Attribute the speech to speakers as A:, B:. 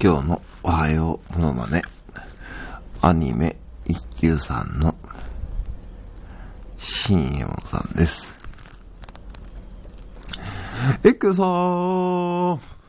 A: 今日のおはようものまね、アニメ一休さんの新右衛門さんです。一休さん